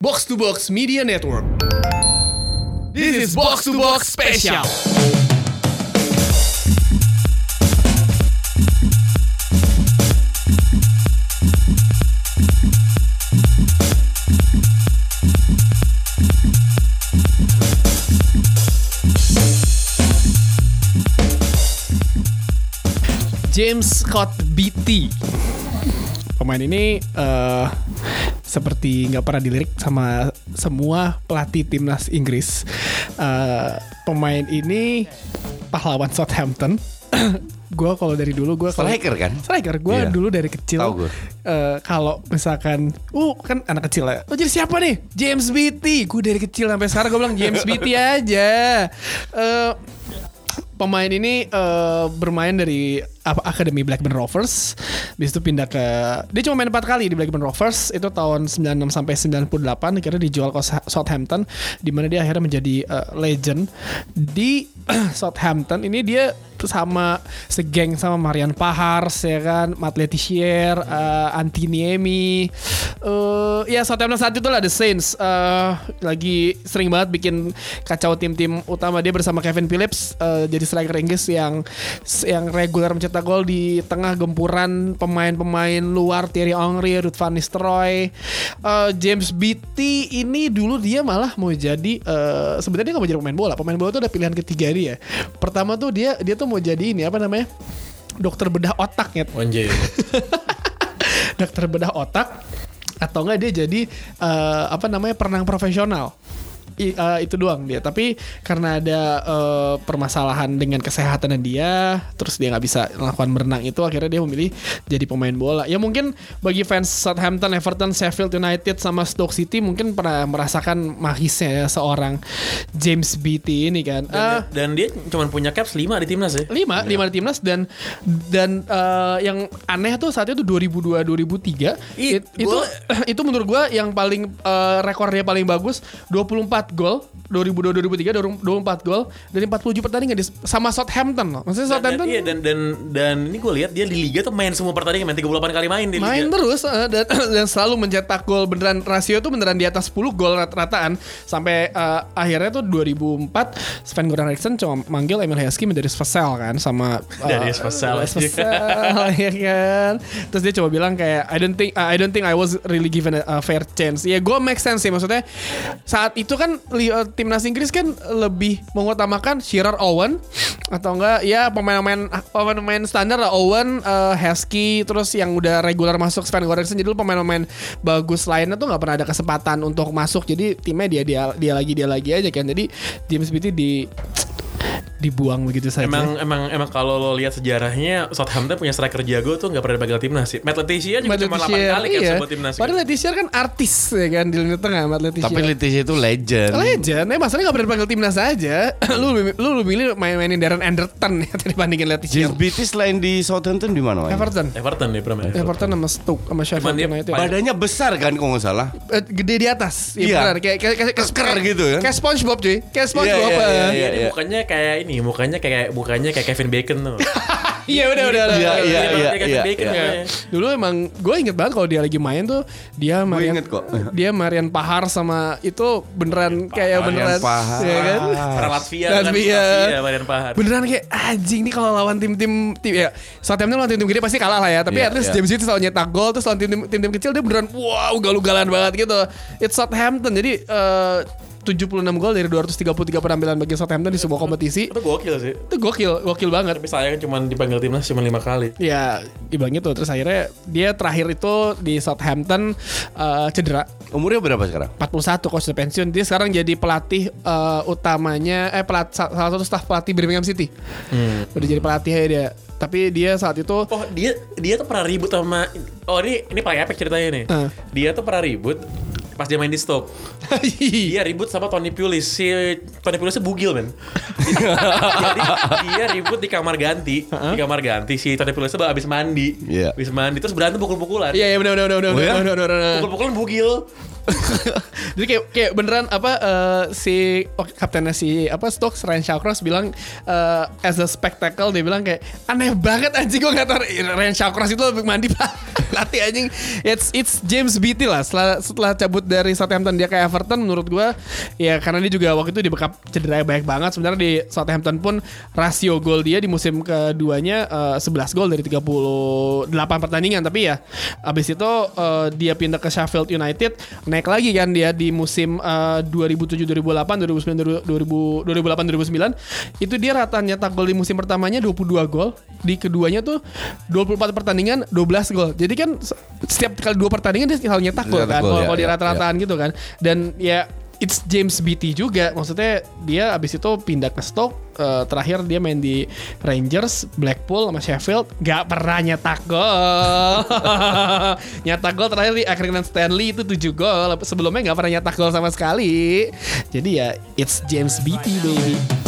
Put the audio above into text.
Box to Box Media Network. This is Box to Box Special. James Scott Beattie. Pemain ini seperti nggak pernah dilirik sama semua pelatih timnas Inggris. Pemain ini pahlawan Southampton. Gue kalau dari dulu gue striker kan? Striker gue dulu dari kecil. Kalau misalkan, kan anak kecil ya. Jadi siapa nih? James Beattie. Gue dari kecil sampai sekarang gue bilang James Beattie aja. Pemain ini bermain dari Akademi Blackburn Rovers. Habis itu pindah ke, dia cuma main 4 kali di Blackburn Rovers. Itu tahun 96 sampai 98. Akhirnya dijual ke Southampton, di mana dia akhirnya menjadi legend di Southampton. Ini dia sama segeng sama Marian Pahars ya kan, Matt Letizier, Antiniemi. Ya Southampton saat itu lah The Saints lagi sering banget bikin kacau tim-tim utama. Dia bersama Kevin Phillips jadi striker Inggris yang reguler mencetak gol di tengah gempuran pemain-pemain luar, Thierry Henry, Ruud van Nistelrooy. James Beattie ini dulu dia malah mau jadi sebenarnya dia nggak mau jadi pemain bola. Pemain bola itu udah pilihan ketiga dia. Pertama tuh dia tuh mau jadi ini apa namanya, dokter bedah otak ya. Dokter bedah otak, atau enggak dia jadi perenang profesional. Itu doang dia. Tapi karena ada permasalahan dengan kesehatan dia, terus dia nggak bisa melakukan berenang itu, akhirnya dia memilih jadi pemain bola. Ya mungkin bagi fans Southampton, Everton, Sheffield United sama Stoke City mungkin pernah merasakan magisnya ya seorang James Beattie ini kan. Dan dia cuma punya caps 5 di timnas ya. 5 di timnas, dan yang aneh tuh saat itu 2002-2003 itu menurut gue yang paling rekornya paling bagus, 24 gol 2002-2003, 24 gol dari 47 pertandingan sama Southampton loh. Maksudnya Southampton dan ini gue lihat dia di liga tuh main semua pertandingan, main 38 kali main di liga. Main terus dan selalu mencetak gol beneran, rasio tuh beneran di atas 10 gol rata-rataan sampai akhirnya tuh 2004 Sven-Göran Eriksson cuma manggil Emil Heskey menjadi Svesel kan, sama dari Svesel ya kan. Terus dia coba bilang kayak I don't think I was really given a fair chance. Ya gue make sense sih, maksudnya saat itu kan timnas Inggris kan lebih mengutamakan Shearer, Owen, atau enggak ya pemain standar lah, Owen, Heskey, terus yang udah regular masuk Sven-Göran Eriksson. Jadi pemain-pemain bagus lainnya tuh nggak pernah ada kesempatan untuk masuk. Jadi timnya dia lagi aja kan. Jadi James Beattie dibuang begitu saja. Emang kalau lo lihat sejarahnya, Southampton punya striker jago tuh nggak pernah dipanggil timnas sih. Matt Letizier juga cuma 8 kali kan sebut timnas. Padahal Letizier kan artis ya kan di lini tengah, Matt Letizier. Tapi Letizier itu legend. Masalahnya nggak pernah dipanggil timnas aja. Lu pilih mainin Darren Anderton ya dibandingin Letizier. James Beattie selain di Southampton di mana? Everton nih pernah. Everton sama Stoke sama Sheffield United. Badannya besar kan kalau nggak salah. Gede di atas. Iya. Benar. Kayak keker gitu kan. Kayak SpongeBob cuy. Kayak SpongeBob. Iya. Mukanya kayak Kevin Bacon tuh. Iya udah. Iya. Dulu emang gue inget banget kalau dia lagi main tuh dia Marian Pahar sama itu beneran kayak beneran Pahar. Ya kan? Latvia Marian Pahar. Beneran kayak anjing nih kalau lawan tim ya Southampton lawan tim gede pasti kalah lah ya. Tapi at least James Beattie selalu nyetak gol, terus lawan tim kecil dia beneran ugal-ugalan banget gitu. It's Southampton. Jadi 76 gol dari 233 penampilan bagi Southampton di sebuah kompetisi. Itu gokil sih. Itu gokil banget. Tapi saya kan cuma dipanggil timnas cuma 5 kali. Ya, dibilang gitu. Terus akhirnya dia terakhir itu di Southampton cedera. Umurnya berapa sekarang? 41, coach pensiun. Dia sekarang jadi pelatih utamanya salah satu staf pelatih Birmingham City. Udah jadi pelatihnya dia. Tapi dia saat itu dia tuh pernah ribut sama ini paling epic ceritanya nih. Dia tuh pernah ribut pas dia main di Stoke. Dia ribut sama Tony Pulis. Si Tony Pulisnya bugil men. Jadi dia ribut di kamar ganti. Di kamar ganti si Tony Pulisnya habis mandi. Habis mandi terus berantem pukul-pukulan. Iya benar. Pukul-pukulan bugil. Jadi kayak beneran si kaptennya si Stokes, Ryan Shawcross bilang as a spectacle, dia bilang kayak aneh banget anjing, gue nggak tahu Ryan Shawcross itu lebih mandi pak latih anjing. It's James Beattie lah setelah cabut dari Southampton dia ke Everton, menurut gue ya karena dia juga waktu itu di backup cedera banyak banget. Sebenarnya di Southampton pun rasio gol dia di musim keduanya 11 gol dari 38 pertandingan, tapi ya abis itu dia pindah ke Sheffield United, naik lagi kan dia di musim 2007-2008, 2008-2009 itu dia rata nyetak gol di musim pertamanya 22 gol, di keduanya tuh 24 pertandingan 12 gol. Jadi kan setiap kali 2 pertandingan dia selalu nyetak gol kan, kalau di rata-rataan gitu kan. Dan ya it's James Beattie juga, maksudnya dia abis itu pindah ke Stoke, terakhir dia main di Rangers, Blackpool sama Sheffield, gak pernah nyetak gol. Nyetak gol terakhir di Accrington Stanley itu 7 gol, sebelumnya gak pernah nyetak gol sama sekali. Jadi ya it's James Beattie baby.